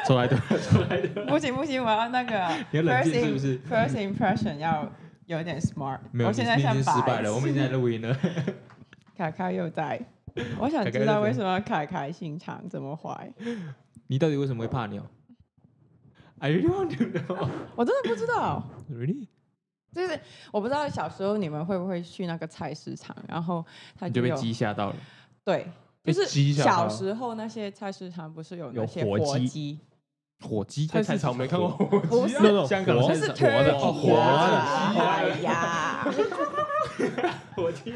出来的，出来的。 不行，我要那个你要冷静是不是 ？First impression 要有点 smart。 没有， 我现在像你已经失败了，我们已经在录音了。 凯凯又在，我想知道为什么凯凯心肠这么坏。 你到底为什么会怕鸟 ？I really want to know。 我真的不知道。 Really？ 就是我不知道小时候你们会不会去那个菜市场，然后他你就被有鸡吓到了。 对，就是鸡吓到小时候那些菜市场不是有那些有火鸡鸡？ 火鸡菜市场没看过火鸡不是啊， 香港就是菜市场活的 turkey 活的啊哎呀， 火鸡。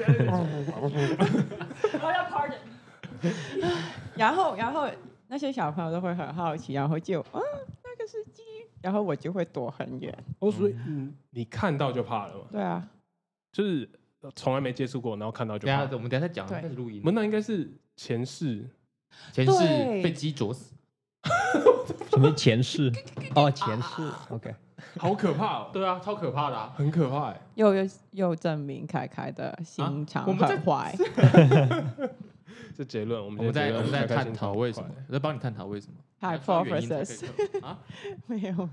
我要 pardon。然后那些小朋友都会很好奇，然后就那个是鸡，然后我就会躲很远。 哦，所以你看到就怕了嘛？ 对啊， 就是从来没接触过，然后看到就怕。 我们等一下再讲， 对开始录音。 那应该是前世， 前世对被鸡啄死， 什么前世？哦，前世。OK， 好可怕哦， 对啊，超可怕的啊！ 很可怕哎。 又证明凯凯的心肠我们在很坏。 这结论，我我们们在开开探心肠讨为什么，我在帮你探讨为什么。 Hypothesis 啊？ 没有。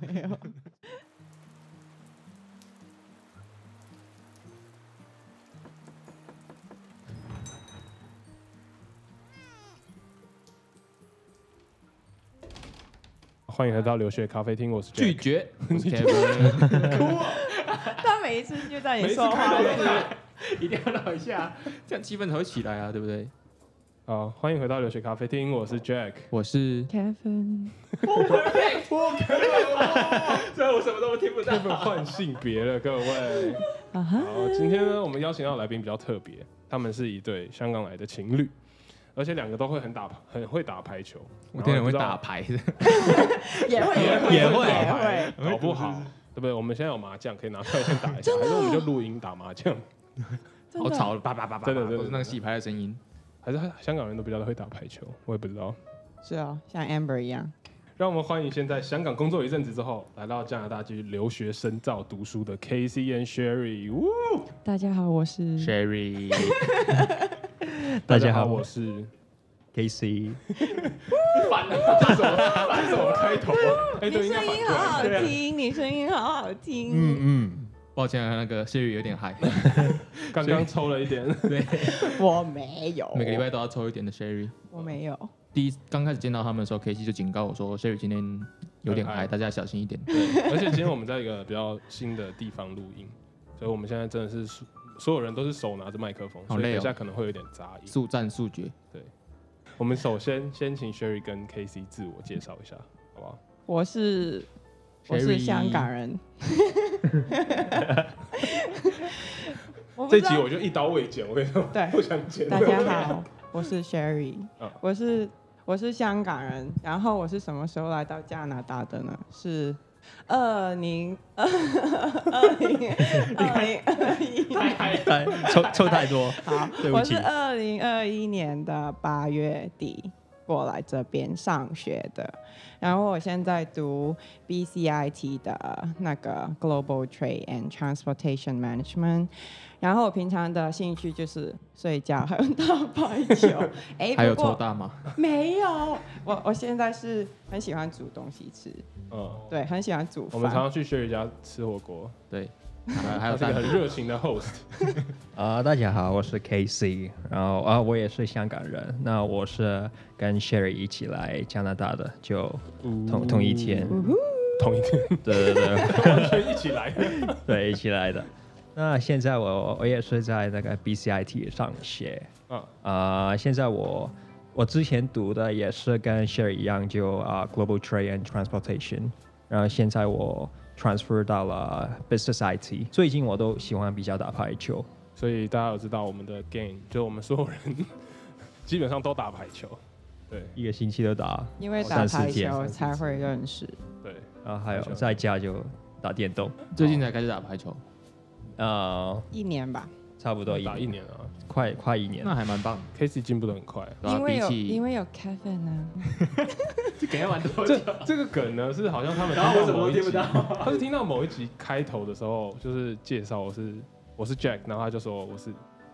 欢迎来到留学咖啡厅，我是拒 Jack。 绝，我是 Kevin。 他每一次就在你说话每一次时， 一定要绕一下，这样气氛才会起来啊，对不对？ 好，欢迎回到留学咖啡厅，我是 Jack。 我是 Kevin， 虽然我什么都听不到。 Kevin 换性别了，各位。 啊哈， 好，今天呢，我们邀请到的来宾比较特别，他们是一对香港来的情侣，而且两个都会很会打排球。 我天人会打牌的， 也会， 搞不好，对不对？我们现在有麻将可以拿出来先打一下，还是我们就录音打麻将？ 真的好吵，叭叭叭叭， 真的都是那个洗牌的声音。 还是香港人都比较会打排球？我也不知道。 是哦，像 Amber 一样。 让我们欢迎现在香港工作一阵子之后，来到加拿大继续留学深造读书的 Casey and Sherry。 大家好，我是 Sherry， 大家好， 我是 KC。 烦了，这是这种开头。哎， 你对，应该声音好好听，你声音好好听。 嗯， 抱歉啊，那个 Sherry 有点嗨， 刚刚抽了一点。 对， 我没有， 每个礼拜都要抽一点的 Sherry。 我没有。 刚开始见到他们的时候，K C 就警告我说，Sherry 今天有点嗨， 很嗨大家小心一点。 对，而且今天我们在一个比较新的地方录音，所以我们现在真的是所有人都是手拿着麦克风，所以好累哦等一下可能会有点杂音。 速战速决。 我们首先请 Sherry 跟 KC 自我介绍一下，好不好？ 我是 Sherry 香港人。我不知道这集我就一刀未剪，我跟你说， 对不想剪。 大家好，我是 Sherry， 嗯我是香港人，然后我是什么时候来到加拿大的呢？是2021， 抽太多， 好， 对不起我是2021年的8月底过来这边上学的，然后我现在读 BCIT 的那个 Global Trade and Transportation Management， 然后我平常的兴趣就是睡觉还有打排球。哎， 还有不过抽大吗？ 没有，我现在是很喜欢煮东西吃，对，很喜欢煮我们常饭。 常去 Sherry 家吃火锅， 对，还有他是个蛋很热情的 host。 大家好，我是 KC，然后我也是香港人，那我是跟 Sherry 一起来加拿大的，就同一天， 同一天， 对， 完全一起来。 对，一起来的。那现在我也是在那个 BCIT 上学，现在我之前读的也是跟 Sherry 一样，就Global Trade and Transportation， 然后现在我 transfer 到了 Business IT， 最近我都喜欢比较打排球。 所以大家有知道我们的 game， 就我们所有人基本上都打排球，对一个星期都打， 因为打排 3-4天球才会认识。 对， 然后还有在家就打电动， 最近才开始打排球， 1年吧， 差不多打一年啊。 快1年。 那还蛮棒的。 Casey 进步的很快。 对啊因为有比起因为有 Kevin 啊。 这梗要玩多久？ 这个梗呢是好像他们然后我什么某一集都听不到。 他是听到某一集开头的时候，就是介绍我是 Jack，然后他就说我是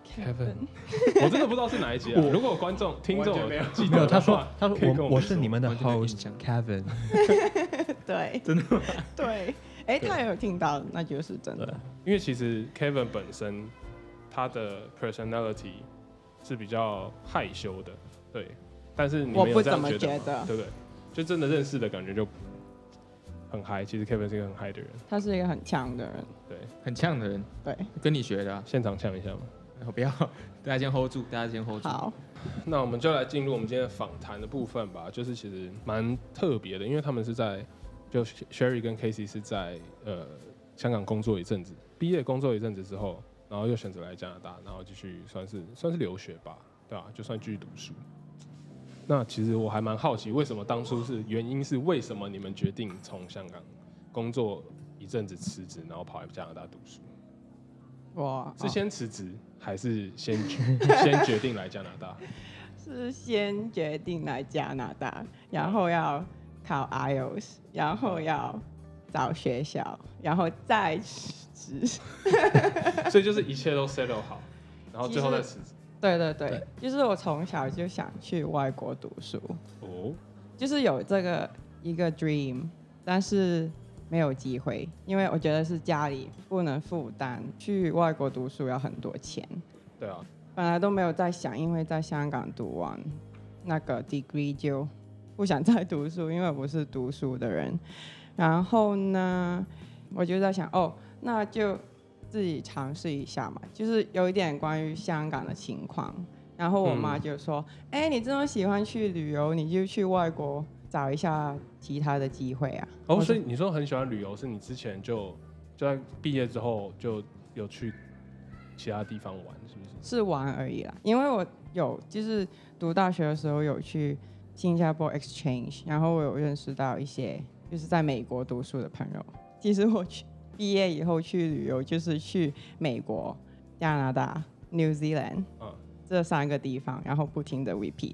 Kevin，我真的不知道是哪一集啊。如果有观众、听众记得， 没有，他说可以跟我是你们的完全没印 host 象 Kevin， 对， 真的吗？ 对，哎，他也有听到，那就是真的。 因为其实 Kevin 本身他的 personality 是比较害羞的，对。但是你们有这样觉得吗？对不对？就真的认识的感觉就很嗨。其实 Kevin 是一个很嗨的人， 他是一个很强的人， 对， 很呛的人， 对。 跟你学的啊。 现场呛一下嘛。 不要，大家先 hold 住，大家先 hold 住。 好， 那我们就来进入我们今天的访谈的部分吧。就是其实蛮特别的，因为他们是就 Sherry 跟 Casey 是在香港工作一阵子，毕业工作一阵子之后，然后又选择来加拿大，然后继续算是留学吧，对吧？就算继续读书。那其实我还蛮好奇，为什么当初原因是为什么你们决定从香港工作一阵子辞职，然后跑来加拿大读书？ 哇， 是先辞职，还是先决定来加拿大？ 是先决定来加拿大，然后要考 IELTS， 然后要找学校，然后再辞职。 所以就是一切都 settle 好，然后最后再辞职。 对，就是我从小就想去外国读书，就是有一个 dream， 但是没有机会，因为我觉得是家里不能负担，去外国读书要很多钱。 对啊， 本来都没有在想，因为在香港读完那个 degree 就不想再读书，因为我不是读书的人。然后呢，我就在想，那就自己尝试一下嘛，就是有一点关于香港的情况。然后我妈就说：“你这么喜欢去旅游，你就去外国找一下其他的机会啊。” 所以你说很喜欢旅游，是你之前就在毕业之后就有去其他地方玩，是不是？ 是玩而已啦，因为我有就是读大学的时候有去新加坡 exchange， 然后我有认识到一些就是在美国读书的朋友。其实我毕业以后去旅游就是去美国、加拿大、New Zealand 这3个地方，然后不停的 repeat，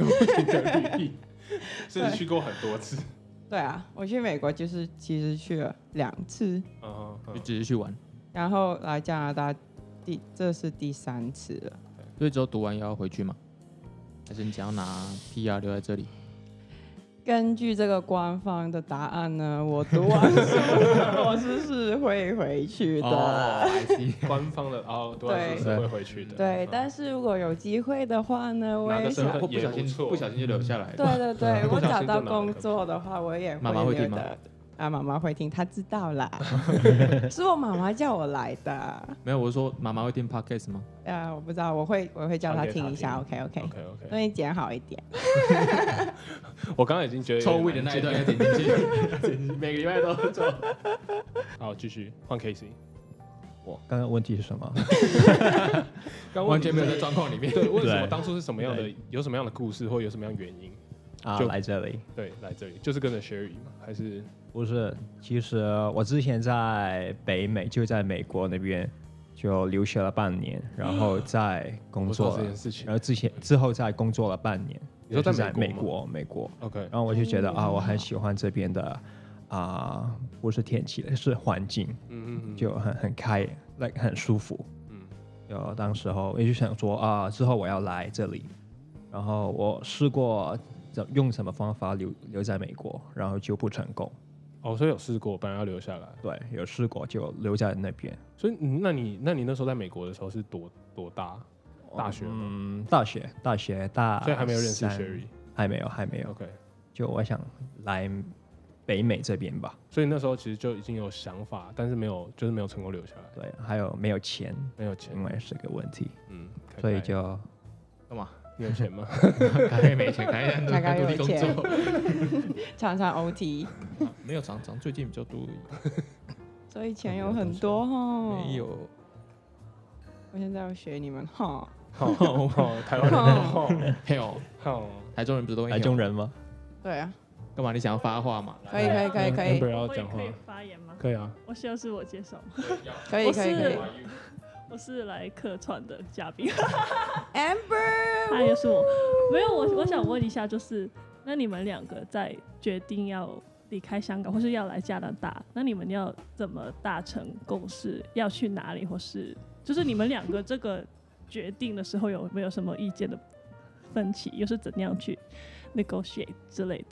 是去过很多次。 对啊，我去美国就是其实去了2次， 就只是去玩， 然后来加拿大这是第3次了。 所以之后读完要回去吗？还是你想要拿 PR 留在这里？ 根据这个官方的答案呢，我读完书我是会回去的。 官方的读完书是会回去的。 对，但是如果有机会的话呢，我也想不小心就留下来了。 对，我找到工作的话，我也会妈妈会听吗？ 妈妈会听，她知道啦。是我妈妈叫我来的。 没有，我是说妈妈会听 podcast 吗？ 我不知道，我会叫她听一下。OK， 所以剪好一点。 我刚刚已经觉得抽位的那一段要点进去，每个礼拜都抽。 好，继续换 Casey。 我刚刚问题是什么？ 完全没有在状况里面。 对，为什么当初是什么样的？有什么样的故事，或有什么样的原因？ 就来这里。 对，来这里就是跟着 Sherry 嘛，还是不是？其实我之前在北美，就在美国那边就留学了半年，然后在工作这件事情， 然后之后再工作了半年。 你说在美国 ？OK。 然后我就觉得我很喜欢这边的不是天气，是环境，就很开，很舒服。就当时候我就想说之后我要来这里，然后我试过用什么方法留在美国，然後就不成功。 所以有試過，本來要留下來。 對，有試過就留在那邊。 所以那你那時候在美國的時候是多大？大學嗎？ 大學大。 所以還沒有認識 Sherry。 還沒有。 OK。 就我想來北美這邊吧。 所以那時候其實就已經有想法，但是沒有成功留下來。 對，還有沒有錢？ 沒有錢， 因為是個問題。 所以就幹嘛？ 你有錢嗎？ 開沒錢，開有工作， 常常 OT。 沒有常最近比較多。 所以錢有很多哦。 沒有。 我現在要學你們哈。 台灣人嘿哦，台中人不是都台中人嗎？ 對啊。 幹嘛？你想要發話嗎？ 可以。 Amber 要講話。 可以發言嗎？ 可以啊。 我需要自我介紹嗎？ 可以。 我是來客串的嘉賓。 Amber， 他也是我。沒有，我想問一下，就是那你們兩個在決定要離開香港，或是要來加拿大，那你們要怎麼達成共識？要去哪裡，或是就是你們兩個這個决定的时候有没有什么意见的分歧，又是怎样去 negotiate 之类的？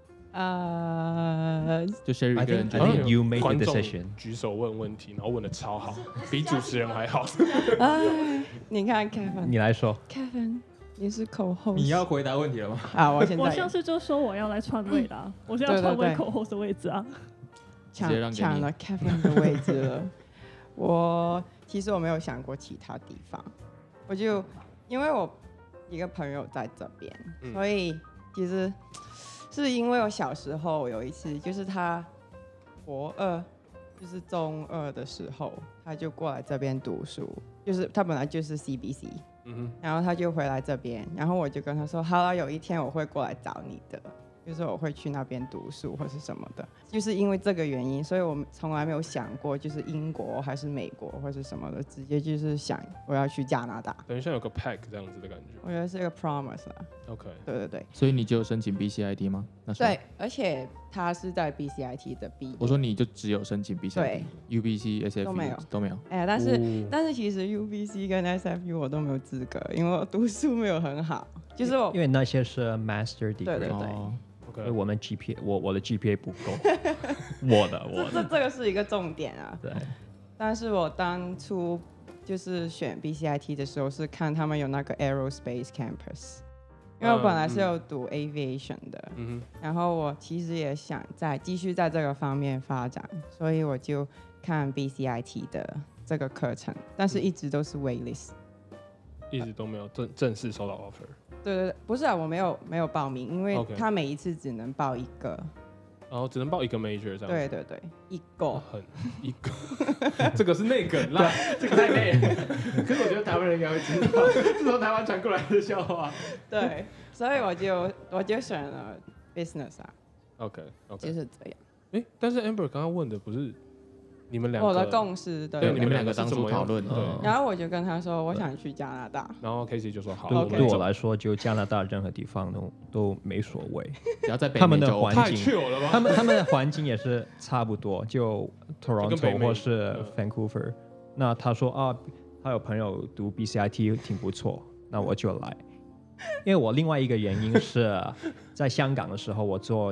就 Sherry 一个人决 I think 定。 you made 观 the 众 decision。 举手问问题，然后问的超好，比主持人还好。 你看 Kevin， 你来说， 你是口后， 你要回答问题了吗？ 啊？我现在我上次就说我要来篡位的、啊，我是要篡位口后的位置啊。 直接让给你抢了 Kevin 的位置了。其实我没有想过其他地方，因为我一个朋友在这边，所以其实是因为我小时候有一次，就是他国二，就是中二的时候，他就过来这边读书，就是他本来就是 CBC，然后他就回来这边，然后我就跟他说，好了，有一天我会过来找你的。就是我会去那边读书或是什么的，就是因为这个原因，所以我从来没有想过就是英国还是美国或是什么的，直接就是想我要去加拿大， 等于像有个 pack 这样子的感觉。 我觉得是一个 promise 啦。 OK， 对， 所以你就有申请 BCIT 吗？那时候对，而且他是在 BCIT 的毕业。 我说你就只有申请 BCIT， 对 UBC、SFU 都没有。哎，但是其实 UBC 跟 SFU 我都没有资格，因为我读书没有很好，就是我因为那些是 master degree， 对哦所以我们 GPA 我的 GPA 不够， 这个是一个重点啊。 对， 但是我当初就是选 BCIT 的时候，是看他们有那个 Aerospace Campus，因为我本来是有读 Aviation 的，然后我其实也想继续在这个方面发展，所以我就看 BCIT 的这个课程，但是一直都是 waitlist， 一直都没有正式收到 offer。 对，不是啊，我没有报名，因为 OK 他每一次只能报一个， 然后只能报一个 major 这样。 对，一个。 一个，这个是内梗啦， 这个太累了。可是我觉得台湾人应该会知道，是从台湾传过来的笑话。 对，所以我就选了 business 啊， OK， 就是这样。 但是 Amber 刚刚问的不是你们两个我的共识对对， 对你们两个当初讨论， 对， 然后我就跟他说，我想去加拿大。 然后 Casey 就说好， 对 OK 对我来说，就加拿大任何地方都没所谓。 只要在北他们的美就 OK 太环境 chill 了吧？ 他们的环境也是差不多，就跟北 Toronto 美或是 Vancouver。那他说啊，他有朋友读 BCIT 挺不错，那我就来。因为我另外一个原因是在香港的时候，我做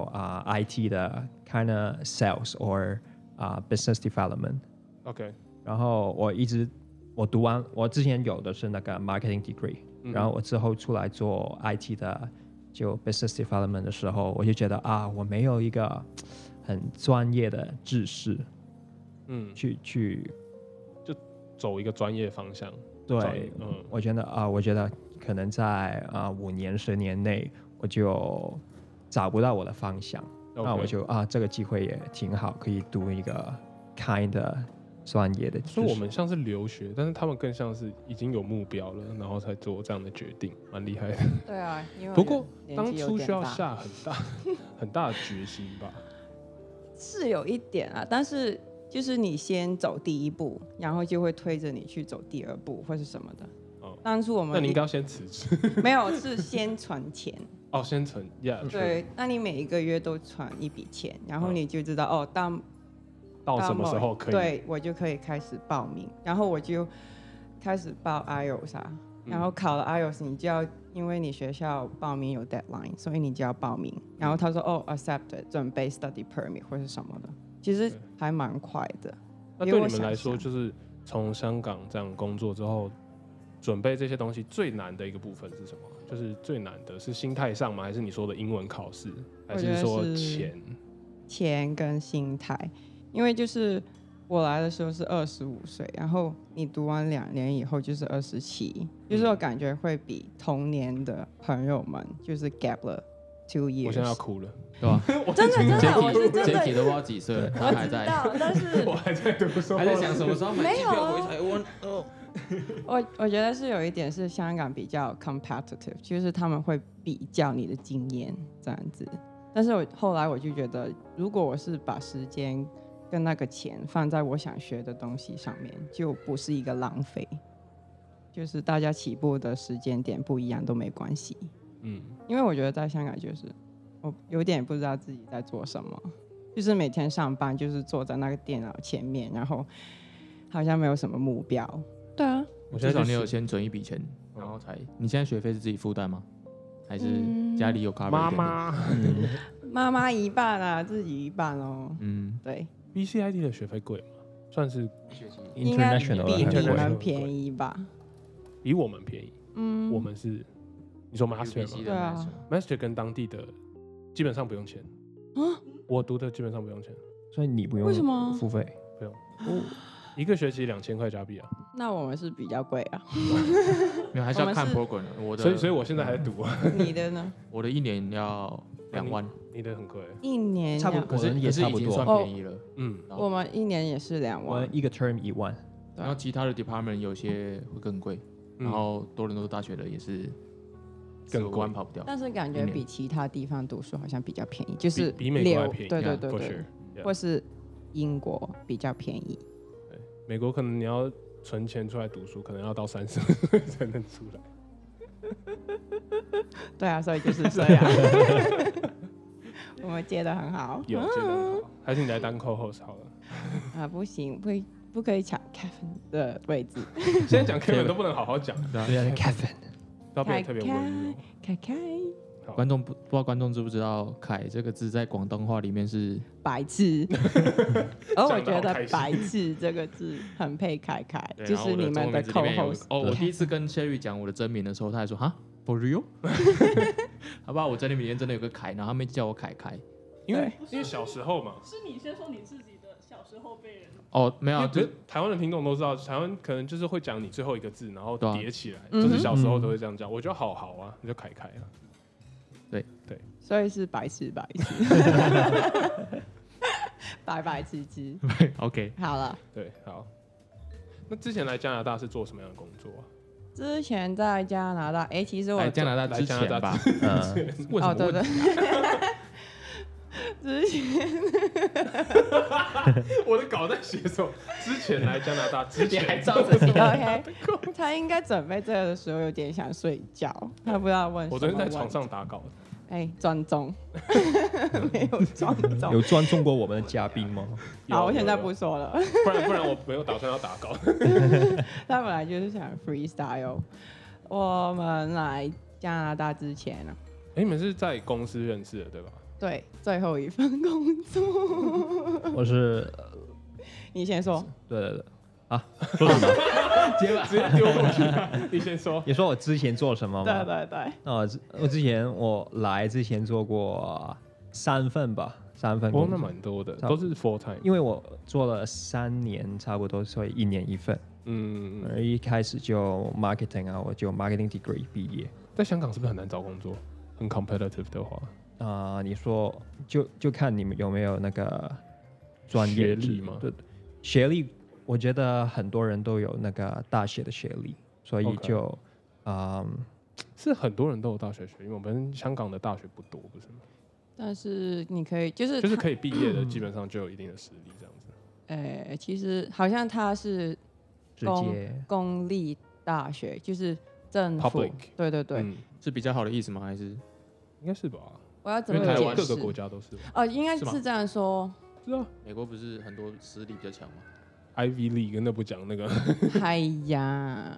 IT 的 kind of sales or business development。 OK， 然后我读完，我之前有的是那个 marketing degree，然后我之后出来做 IT 的就 business development 的时候，我就觉得我没有一个很专业的知识，去就走一个专业方向。 对，我觉得可能在5年10年内我就找不到我的方向，那我就这个机会也挺好，可以读一个 kind 的专业的知识。 所以我们像是留学，但是他们更像是已经有目标了，然后才做这样的决定，蛮厉害的。 对啊，因为不过当年纪有初需要点大下很大的决心吧？ 是有一点啊，但是就是你先走第一步，然后就会推着你去走第二步或是什么的。当初我们那你应该要先辞职。 没有，是先存钱。 先存，yeah， 对，那你每一个月都存一笔钱，然后你就知道到什么时候可以？ 对，我就可以开始报名，然后我就开始报 IELTS 然后考了 IELTS，你就要因为你学校报名有 deadline， 所以你就要报名。然后他说accepted， 准备 study permit 或是什么的，其实还蛮快的。 那对你们来说，就是从香港这样工作之后，准备这些东西最难的一个部分是什么？就是最难的是心态上吗？还是你说的英文考试？还是说钱跟心态？因为就是我来的时候是25岁，然后你读完2年以后就是27，就是我感觉会比同年的朋友们就是 gap 了2 years。 我现在要哭了， 对吧？ 真的，我是真的。 Jacky 都不知道几岁了，他还在， 但是我还在读书， 还在想什么时候买机票回台湾。 我觉得是有一点是香港比较 competitive， 就是他们会比较你的经验这样子。但是后来我就觉得，如果我是把时间跟那个钱放在我想学的东西上面，就不是一个浪费。就是大家起步的时间点不一样都没关系。因为我觉得在香港就是我有点不知道自己在做什么，就是每天上班就是坐在那个电脑前面，然后好像没有什么目标。对啊， 至少我现在就你有先存一笔钱，然后才。你现在学费是自己负担吗？还是家里有 cover 妈一点点？ 妈妈妈一半啊，自己一半哦。对， BCIT 的学费贵吗？算是应该 international 比你很贵们便宜吧？ 比我们便宜。我们是你说 master 吗对啊 ？master 跟当地的基本上不用钱我读的基本上不用钱， 所以你不用为什么付费？ 不用。一个学期2000块加币啊， 那我们是比较贵啊。 没有，还是要看我们 program 的。我的， 所以我现在还在读啊。 你的呢？ 我的一年要2万， 你的很贵， 一年差不多两可是也差不多已经算便宜了。然后我们一年也是2万我们。一个 term 1万， 然后其他的 department 有些会更贵，然后多伦多大学的也是更 5万跑不掉。 但是感觉比其他地方读书好像比较便宜，就是比美国还便宜对对 Yeah, 对 for 对 sure， 或是英国比较便宜。 美国可能你要存钱出来读书，可能要到30岁才能出来。 对啊，所以就是这样。我们接的很好。 有，觉得很好，还是你来当 co-host 好了。 啊，不行，不可以抢 Kevin 的位置。 现在讲 Kevin 都不能好好讲， 对啊，Kevin， 都要变得特别温柔。 凯凯， 观众不知道观众知不知道“凯”这个字在广东话里面是白痴。而我觉得讲得好开心白痴这个字很配凯凯， 对就是你们的然后我的中文名字里面有 co-host。 我第一次跟 Sherry 讲我的真名的时候，他还说哈 for real， 好不好？我真名里面真的有个凯，然后他们叫我凯凯。 因为小时候嘛， 是你先说你自己的小时候被人哦，没有啊，就因为台湾的听众都知道，台湾可能就是会讲你最后一个字，然后对啊叠起来， 嗯就是小时候都会这样讲。我觉得好啊，你就凯凯啊。 所以是白痴白痴，白白痴痴。 OK。 好了， 对，好。那之前来加拿大是做什么样的工作啊？ 之前在加拿大，其实我来加拿大之前吧， 问什么对对问题？ 之前我的稿在写什么？之前来加拿大之前还照着写 OK，他应该准备这个的时候有点想睡觉，他不知道问什么我昨天在问题床上打稿， 专中，没有专中。 有尊重过我们的嘉宾吗？ 好，我现在有不说了。 不然我没有打算要打稿。 他本来就是想 freestyle。我们来加拿大之前呢， 你们是在公司认识的对吧？ 对，最后一份工作， 我是你先说。 对啊，说什么？ 直接丢过去。你先说。 你说我之前做什么吗？ 对对对， 我之前来之前做过3份吧，3份工作， 那蛮多的，都是 full time。 因为我做了3年，差不多，所以1年1份。而一开始就 marketing 啊，我就 marketing degree 毕业。 在香港是不是很难找工作？很 competitive 的话， 你说就看你们有没有那个专业学历吗？ 对，学历我觉得很多人都有那个大学的学历，所以就是很多人都有大学学历，因为我们香港的大学不多，不是吗？ 但是你可以就是可以毕业的，基本上就有一定的实力这样子。 其实好像他是直接公立大学，就是政府 Public 对对对， 是比较好的意思吗？还是应该是吧？ 我要怎因为台么解释？ 湾各个国家都是吧。 应该是这样说。 是啊， 美国不是很多实力比较强吗？ Ivy League 那不讲那个， 哎呀，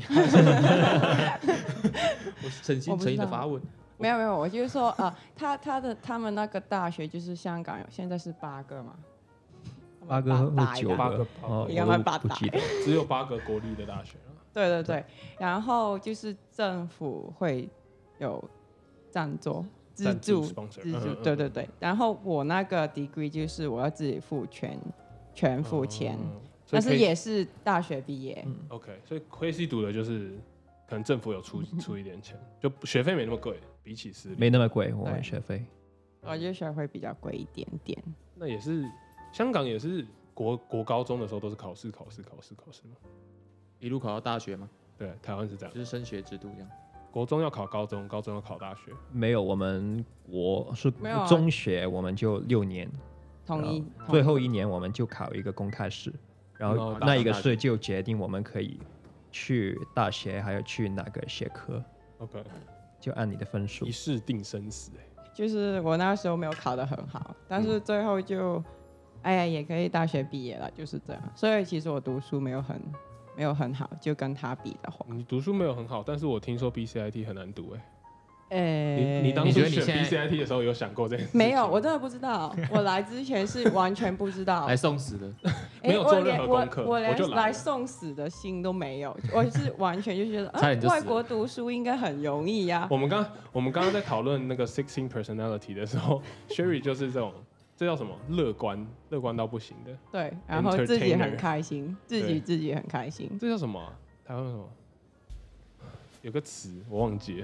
我诚心的发问， 没有，我就是说他们那个大学就是香港现在是8个嘛 ，8个或9个， 8个应该蛮8 不记得， 只有8个国立的大学啊。 对对，然后就是政府会有赞助。资助，对对对。然后我那个 degree 就是我要自己付全付钱，但是也是大学毕业。 OK， 所以KC读的就是可能政府有出一点钱，就学费没那么贵，比起私立没那么贵，我们学费。 我觉得学费比较贵一点点。 那也是香港也是国高中的时候都是考试吗？ 一路考到大学吗？ 对，台湾是这样， 就是升学制度这样。 国中要考高中，高中要考大学。 没有，我是中学，我们就6年， 统一最后1年我们就考一个公开试，然后那一个试就决定我们可以去大学，还有去哪个学科。 OK， 就按你的分数， 一试定生死。 就是我那时候没有考得很好，但是最后就，也可以大学毕业了，就是这样。所以其实我读书没有没有很好，就跟他比的话， 你读书没有很好，但是我听说 BCIT 很难读你当你初选觉得你现在 BCIT 的时候有想过这件事情？ 没有，我真的不知道。我来之前是完全不知道， 来送死的， 没有做任何功课我连我就来了来送死的心都没有，我是完全就觉得， 差点就死了外国读书应该很容易呀。 我们刚刚在讨论那个 16 personality 的时候，Sherry 就是这种，这叫什么？乐观到不行的。 对，然后自己很开心，自己很开心。 这叫什么啊？台湾什么？有个词我忘记了。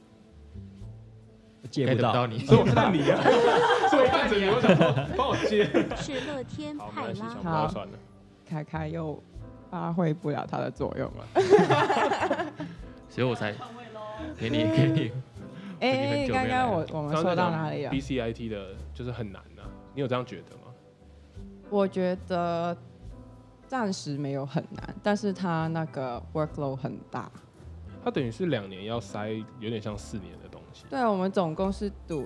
接不到， 你， 所以我看你啊，所以我看着你，我想说帮我接。 是乐天好，没派关系，想拉。 不到算了。 凯凯又发挥不了它的作用了。 所以我才给你。 刚刚我们说到哪里了 ？BCIT 的就是很难啊，你有这样觉得吗？ 我觉得暂时没有很难，但是它那个 workload 很大。 它等于是2年要塞，有点像4年的东西。 对，我们总共是读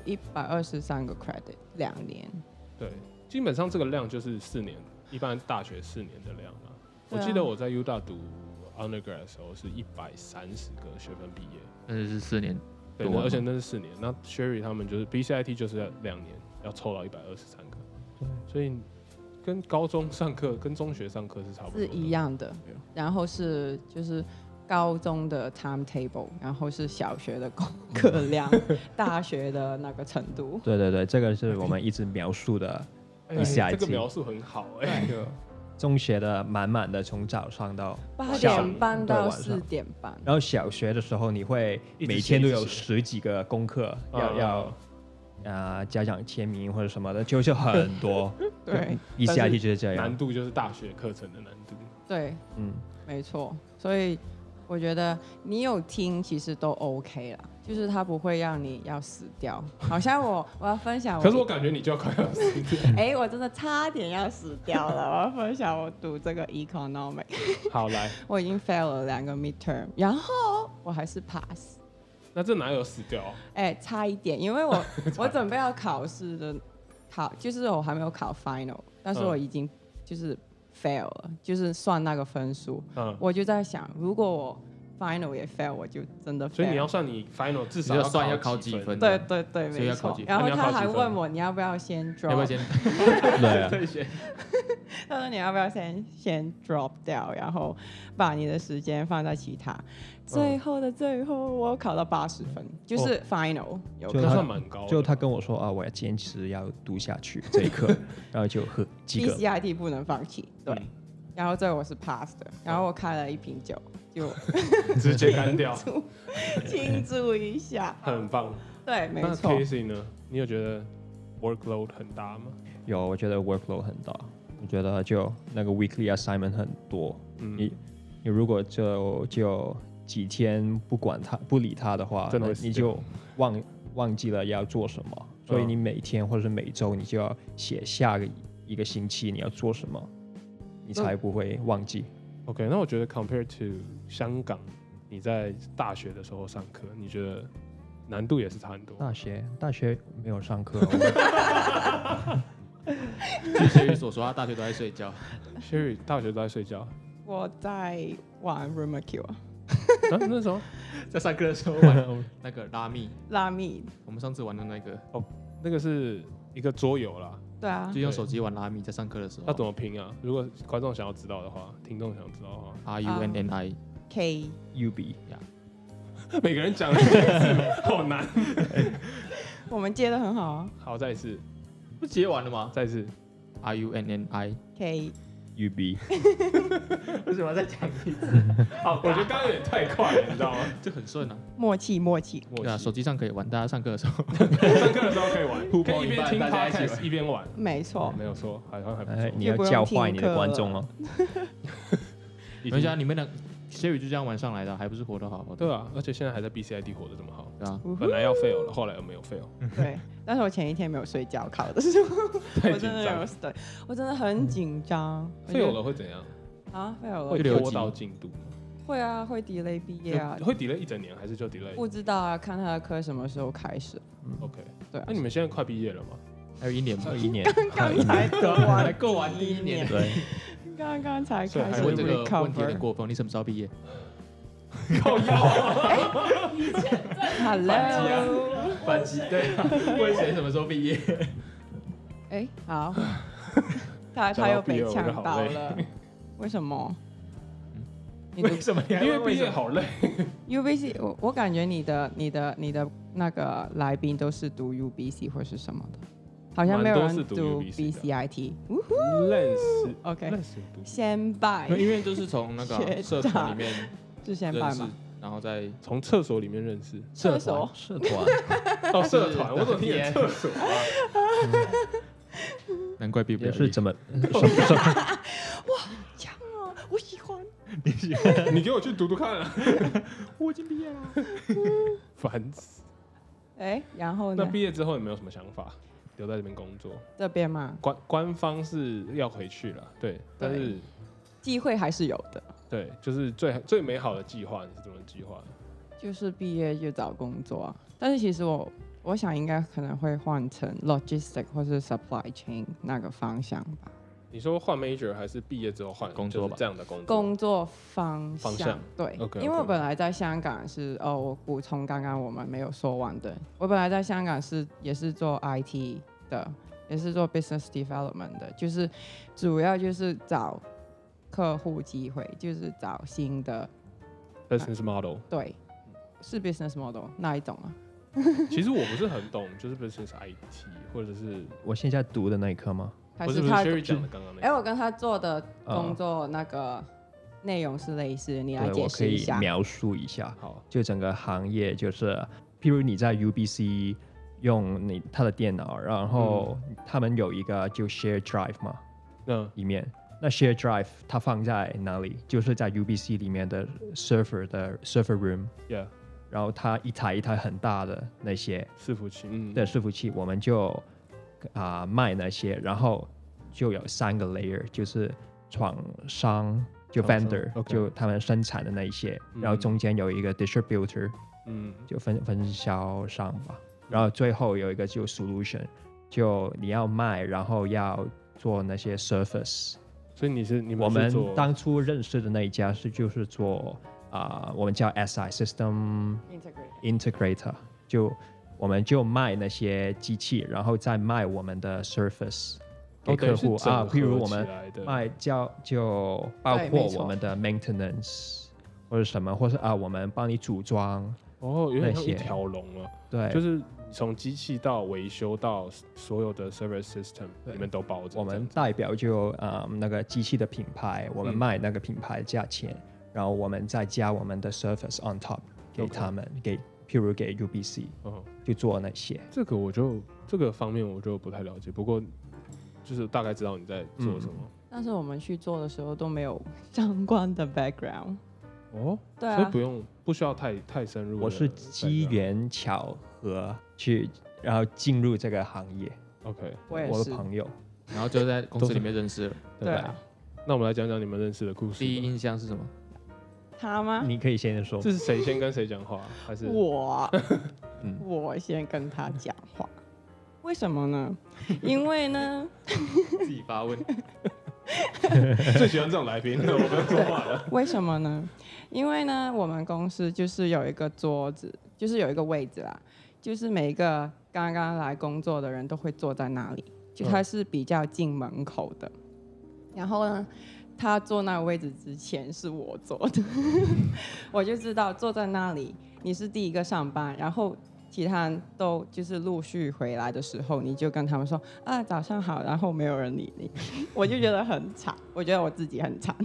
123个 credit，2年。 对，基本上这个量就是4年，一般大学4年的量啊。我对啊记得我在 U 大读 undergrad 的时候是130个学分毕业， 那是4年对， 多吗而且那是4年。那 Sherry 他们就是 BCIT 就是要2年，要凑到123个，所以跟高中上课跟中学上课是差不多的， 是一样的，然后是就是高中的 timetable， 然后是小学的功课量，大学的那个程度。 对对对，这个是我们一直描述的哎 BCIT 这个描述很好哎、 就中学的满满的从早上到 8 下点半到对晚上 4点半。 然后小学的时候，你会每天都有10几个功课要家长签名或者什么的，就是很多。 对 ，BCIT 就是这样。 难度就是大学课程的难度。 对， 嗯， 没错。所以我觉得你有听，其实都 OK 啦，就是它不会让你要死掉。好像我要分享可是我感觉你就要快要死掉。 我真的差点要死掉了。我要分享我读这个 economic， 好来， 我已经 fail 了2个 midterm， 然后我还是 pass。 那这哪有死掉？ 差一点，因为我准备要考试的就是我还没有考 final， 但是我已经就是 fail 了，就是算那个分数。我就在想，如果我 final 也 fail， 我就真的 fail。 所以你要算你 final 至少你要算要考几几分？ 对对对， 所以要没错考几分。 然后他还那你要考几分问我你要不要先 drop， 要不要先？ 对啊， 退学？ 他说你要不要先 drop 掉，然后把你的时间放在其他。最后的最后，我考到80分，就是 final 有那就他算蛮高的。 就他跟我说啊，我要坚持要读下去这一课，然后就喝几个。 BCIT 不能放弃，对。然后最后我是 pass 的，然后我开了1瓶酒，就直接干掉， 庆祝一下。 很棒。 对，没那错。 Casey 呢？你有觉得 workload 很大吗？ 有，我觉得 workload 很大，我觉得就那个 weekly assignment 很多。你如果就几天不理他的话， 真的会死你就忘记了要做什么，所以你每天或者是每周你就要写下一个星期你要做什么，你才不会忘记。 OK， 那我觉得 compared to 香港，你在大学的时候上课，你觉得难度也是差很多？ 大学没有上课， 据Sherry所说，他大学都在睡觉。 Sherry 大学都在睡觉， 我在玩 Rumakil 那时候在上课的时候玩那个拉密， 我们上次玩的那个， 那个是一个桌游啦， 对啊就，用手机玩拉密，在上课的时候。 要怎么拼啊？如果观众想要知道的话，听众想要知道的话， RUNNI K UB 每个人讲的字好难。 我们接的很好啊好，再一次， 不接完了吗再一次。 ？RUNNI ，K UB 为什么要再讲一次？ 好，我觉得刚刚有点太快了，你知道吗？ 这很顺啊。 默契。 对啊，手机上可以玩，大家上课的时候。 上课的时候可以玩， 互可以一边听大家一起 podcast 玩一边玩， 没错， 没有错，好像还不错。 你要教坏你的观众哦。 已经没想你们俩 Sherry 就这样玩上来的，还不是活得好好的？ 对啊，而且现在还在 BCIT 活得这么好， 对啊， 本来要 fail 了，后来又没有 fail， 对。但是我前一天没有睡觉考的时候， 太紧我真的有张。 对，我真的很紧张。 fail 了会怎样？ 啊，fail 会了， 拖到进度吗？ 会啊，会 delay 毕业啊， 会 delay 一整年还是就 delay？ 不知道啊，看他的课什么时候开始。 OK， 对啊那你们现在快毕业了吗？ 还有1年吧， 1年， 刚才读完还够玩第一年对， 刚刚才开始所以还是问这个问题有点 recover。 过分，你什么时候毕业？ 靠腰， Hello， 反击对，问谁什么时候毕业？ 哎，好，他又被呛到了，为什么？你为什么你还因为毕问为什么？ 业好累。 UBC，我感觉你的那个来宾都是读 UBC 或是什么的，好像没有人蛮多是读读 UBC 的 BCIT。 认识 OK， 认识读， 先拜因为就是从那个学社团里面是先拜认识吗？， 然后再从厕所里面认识。 厕所社团， 哦，社团，我怎么听见厕所啊？ 难怪毕不了业。 也是怎么强哦，我喜欢。 你给我去读读看啊！ 我已经毕业了。 烦死。 哎，然后呢？ 那毕业之后有没有什么想法？留在这边工作？ 这边嘛， 官方是要回去了，对，但是机会还是有的， 对，就是最美好的计划，你是怎么计划的？ 就是毕业就找工作啊。但是其实我想应该可能会换成 logistic 或是 supply chain 那个方向吧。 你说换 major 还是毕业之后换工作吧就是这样的工作？ 工作方方向对 OK，OK 因为我本来在香港是我补充刚刚我们没有说完的，我本来在香港也是做 IT 的，也是做 business development 的，就是主要就是找客户机会，就是找新的 business model。 对，是 business model 那一种啊？ 其实我不是很懂，就是 business IT 或者是我现在读的那一科吗？ 不是还他？ Sherry 讲的刚刚那个？ 我跟他做的工作那个内容是类似的，你来对， 解我可以释一下。 描述一下。 好， 就整个行业就是，譬如你在 UBC 用他的电脑，然后他们有一个就 share drive 嘛，里面那 share drive 它放在哪里？就是在 UBC 里面的 server room， yeah， 然后它一台一台很大的那些伺服器， 的伺服器，我们就卖那些，然后就有3个 layer，就是厂商就 vendor， 就他们生产的那一些，然后中间有一个 distributor，就分销商吧，然后最后有一个就 solution， 就你要卖，然后要做那些 service。 所以你们我们当初认识的那一家就是做我们叫 SI System Integrator， 就我们就卖那些机器，然后再卖我们的 service 给客户譬如我们卖就包括我们的 maintenance 或者什么，或是我们帮你组装有点像一条龙了。 对， 就是从机器到维修到所有的 service system 里面都包着。 我们代表就那个机器的品牌，我们卖那个品牌价钱，然后我们再加我们的 service on top 给他们，譬如给 UBC，就做那些。 这个方面我就不太了解，不过就是大概知道你在做什么。 但是我们去做的时候都没有相关的 background。对啊， 所以不需要太深入。 我是机缘巧合然后进入这个行业。 OK， 我的朋友， 然后就在公司里面认识了。 对啊。 那我们来讲讲你们认识的故事。 第一印象是什么？ 他吗？ 你可以先说。 这是谁先跟谁讲话？还是我先跟他讲话？为什么呢？因为呢， 自己发问。 最喜欢这种来宾，我不用说话了。 为什么呢？因为呢，我们公司就是有一个桌子，就是有一个位置啦，就是每一个刚刚来工作的人都会坐在那里，就它是比较近门口的。然后呢，他坐那个位置之前是我坐的，我就知道坐在那里你是第一个上班，然后其他人都就是陆续回来的时候，你就跟他们说早上好，然后没有人理你，我就觉得很惨，我觉得我自己很惨。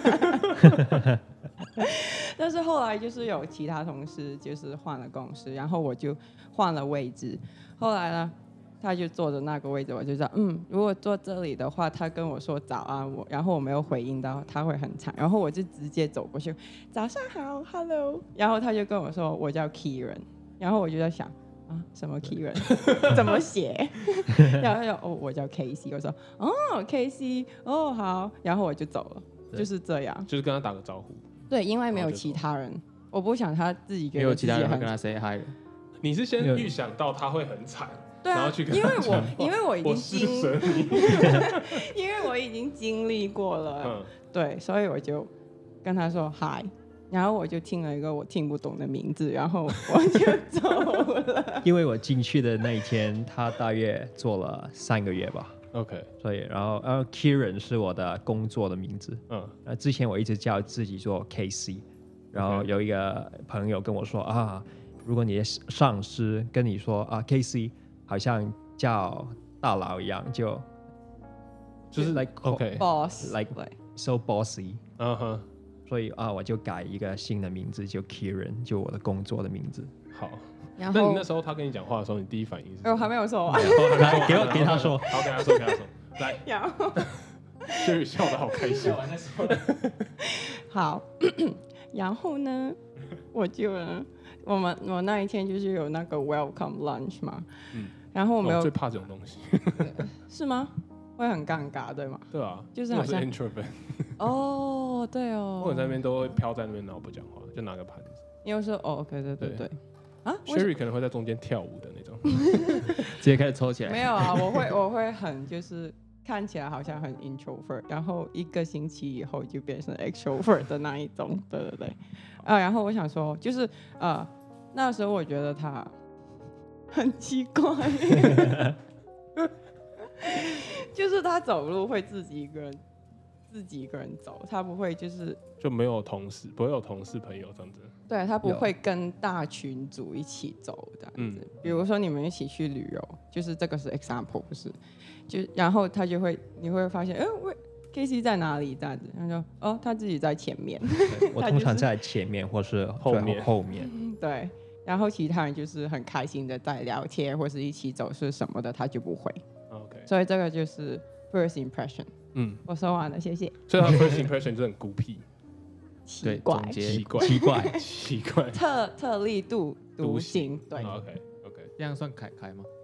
但是后来就是有其他同事就是换了公司，然后我就换了位置，后来呢他就坐着那个位置，我就知道如果坐这里的话，他跟我说早安，然后我没有回应到，他会很惨，然后我就直接走过去，早上好 ，Hello， 然后他就跟我说我叫 Kieran， 然后我就在想什么 Kieran 怎么写？然后他就我叫 Casey， 我说Casey， 好，然后我就走了，就是这样， 就是跟他打个招呼。 对，因为没有其他人，我不想他自己觉得没有其他人会跟他 say hi 的。 你是先预想到他会很惨， 对啊然后去，跟因为他讲话因为我已经我施舍你， 因为我已经经历过了， 嗯， 对，所以我就跟他说嗨，然后我就听了一个我听不懂的名字，然后我就走了。 因为我进去的那一天，他大约做了3个月吧， OK， 所以然后Kieran 是我的工作的名字，之前我一直叫自己做 KC， 然后有一个朋友跟我说啊，如果你的上司跟你说啊 KC 好像叫大佬一样，就是 like OK， boss like 对 so bossy， 嗯哼， 所以我就改一个新的名字，就 Kieran， 就我的工作的名字。 好。 然后那你那时候他跟你讲话的时候，你第一反应是什么？ 我还没有说完， 来给他说， 好，给他说，来， 然后就是笑得好开心。 好，然后呢，我那一天就是有那个 welcome lunch 嘛，然后我没有最怕这种东西， 是吗？会很尴尬对吗？ 对啊， 就是好像 introvert， 哦，对哦， 我在那边都会飘在那边，然后不讲话，就拿个盘子。 你又说哦，对啊 Sherry 可能会在中间跳舞的那种。 直接开始抽起来。 没有啊，我会很就是看起来好像很 introvert，然后1个星期以后就变成 extrovert 的那一种，对，然后我想说就是那时候我觉得他很奇怪，就是他走路会自己一个人走，他不会就没有同事，不会有同事朋友这样子。 对，他不会跟大群组一起走这样子。比如说你们一起去旅游，就是这个是 example， 不是？然后他就会，你会发现，Casey 在哪里这样子？他说，哦，他自己在前面。 我通常在前面或是后面。 对，然后其他人就是很开心的在聊天或是一起走是什么的，他就不会。 OK， 所以这个就是 first impression。我说完了，谢谢。 所以他 first impression 就很孤僻。 奇怪， 奇怪， 特立独行，对。 OK， 这样算凯凯吗？